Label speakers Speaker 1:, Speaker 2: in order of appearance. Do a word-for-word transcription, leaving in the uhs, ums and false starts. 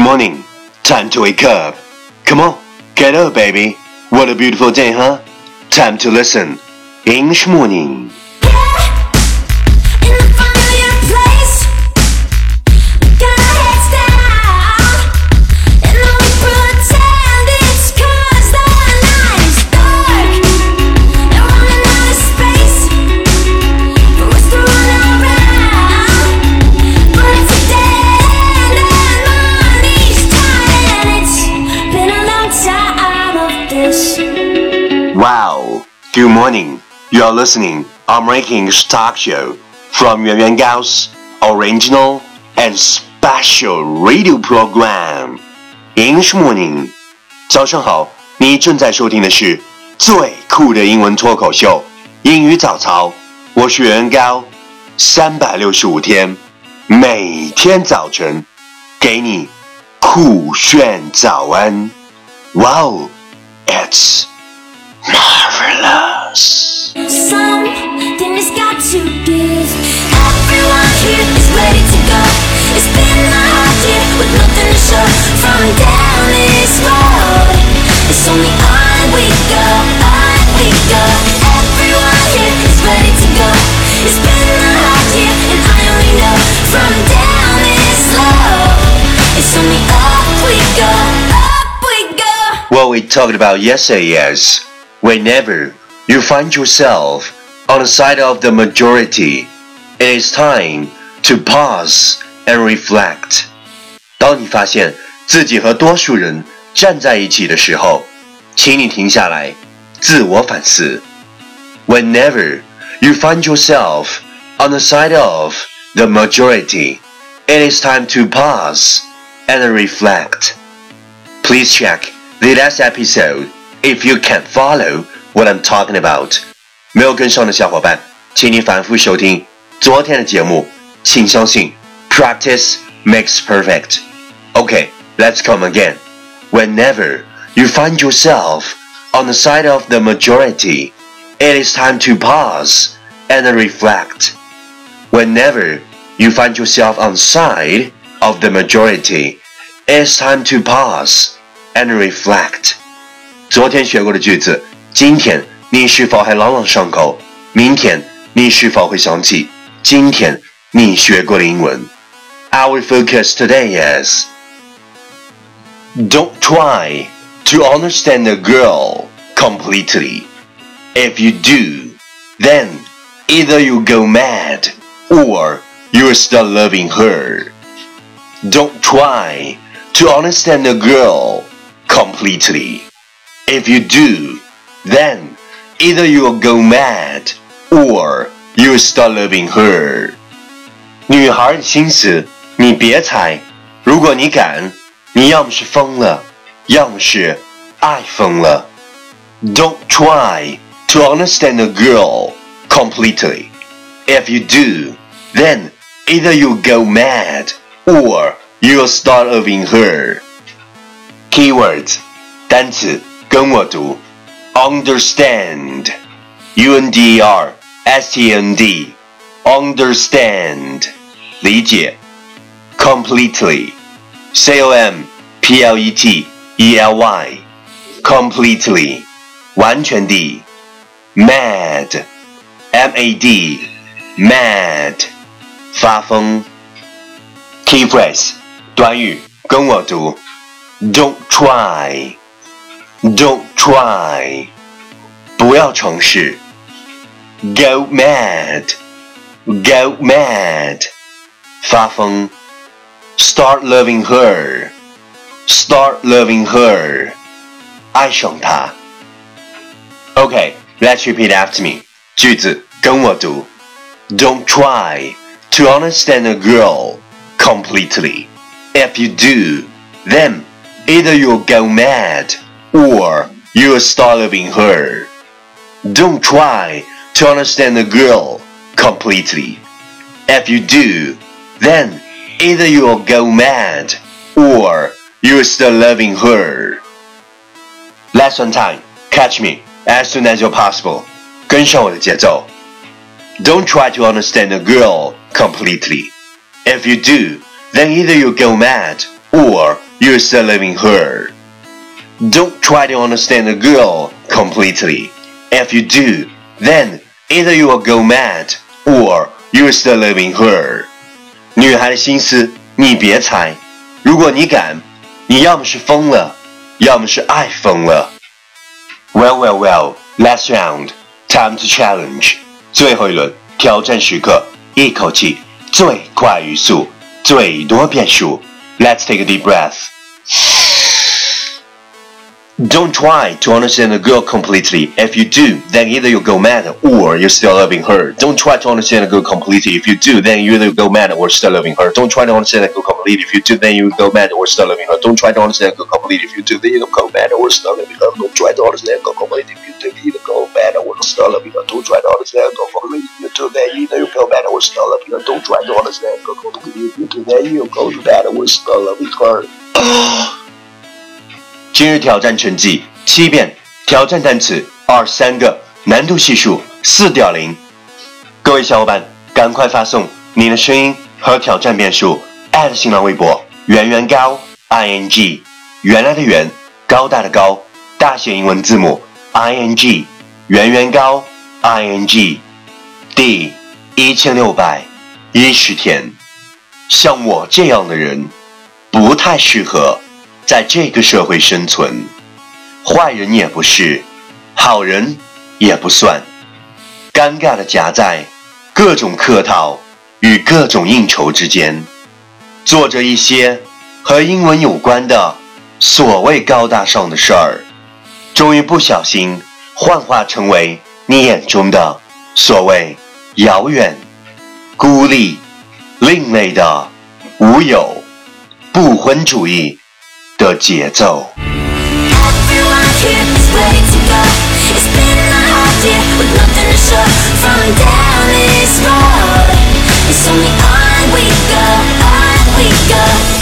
Speaker 1: morning. Time to wake up. Come on, get up, baby. What a beautiful day, huh? Time to listen. English morning. Wow, good morning. You are listening American English Talk Show from Yuan Yuan Gao's original and special radio program. English Morning. 早上好，你正在收听的是最酷的英文脱口秀英语早操。我是袁高，三百六十五天，每天早晨给你酷炫早安。Wow, it's marvelous.
Speaker 2: Something has got to give. Everyone here is ready to go. It's been a hard year with nothing to show. From down this road, it's only on we go, on we go. Everyone here is ready to go. It's been a hard year and I only know. From down this road, it's only up we go, up we go.
Speaker 1: What we talked about yesterday is whenever you find yourself on the side of the majority, it is time to pause and reflect. 当你发现自己和多数人站在一起的时候，请你停下来，自我反思。Whenever you find yourself on the side of the majority, it is time to pause and reflect. Please check the last episode if you can't follow what I'm talking about. 没有跟上的小伙伴，请你反复收听昨天的节目。请相信 practice makes perfect. Okay, let's come again. Whenever you find yourself on the side of the majority, it is time to pause and reflect. Whenever you find yourself on the side of the majority, it is time to pause and reflect. 昨天学过的句子，今天你是否还朗朗上口？明天你是否会想起今天你学过的英文？ Our focus today is don't try to understand a girl completely. If you do, then either you go mad or you start loving her. Don't try to understand a girl completely. If you do, then either you'll go mad or you'll start loving her. 女孩的心思你别猜，如果你敢，你要么是疯了，要么是爱疯了。Don't try to understand a girl completely. If you do, then either you'll go mad or you'll start loving her. Keywords 单词跟我读 Understand U N D E R S T A N D Understand 理解 Completely C O M P L E T E L Y Completely 完全地 Mad M A D Mad 发疯 Key phrase 短语跟我读 Don't try Don't try 不要尝试 Go mad Go mad 发疯 Start loving her Start loving her 爱上她 Okay, let's repeat after me 句子跟我读 Don't try to understand a girl completely. If you do, then either you'll go mad or you'll start loving her. Don't try to understand a girl completely. If you do, then either you'll go mad or you'll start loving her. Last one time, catch me as soon as you're possible. 跟上我的节奏。Don't try to understand a girl completely. If you do, then either you'll go mad or you're still loving her. Don't try to understand a girl completely. If you do, then either you will go mad or you're still loving her. 女孩的心思你别猜，如果你敢，你要么是疯了，要么是爱疯了。Well, well, well, last round, time to challenge. 最后一轮挑战时刻，一口气最快语速，最多变数。Let's take a deep breath. Don't try to understand a girl completely. If you do, then either you'll go mad or you're still loving her. Don't try to understand a girl completely. If you do, then you either go mad or still loving her. Don't try to understand a girl completely. If you do, then you go mad or still loving her. Don't try to understand a girl completely. If you do, then you go mad or still loving her. Don't try to understand a girl completely. If you do, then you go mad or still loving her. Don't try to understand a girl completely. If you do, then either you go mad or still loving her. Don't try to understand a girl completely. If you do, then you go mad or still loving her. 今日挑战成绩七遍，挑战单词二十三个，难度系数四点零。各位小伙伴，赶快发送你的声音和挑战遍数@新浪微博圆圆高 ing 原来的圆，高大的高，大写英文字母 ing 圆圆高 ing 第一千六百一十天。像我这样的人，不太适合在这个社会生存，坏人也不是，好人也不算，尴尬的夹在各种客套与各种应酬之间，做着一些和英文有关的所谓高大上的事儿，终于不小心幻化成为你眼中的所谓遥远、孤立、另类的无有、不婚主义的节奏。
Speaker 2: Everyone here is ready to go. It's been a hard year with nothing to show. From down this road, it's only on we go, on we go.